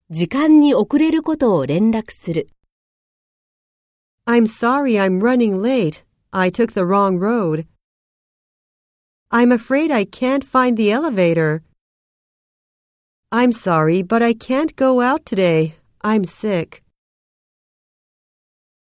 時間に遅れることを連絡する。 I'm sorry I'm running late. I took the wrong road. I'm afraid I can't find the elevator. I'm sorry, but I can't go out today. I'm sick.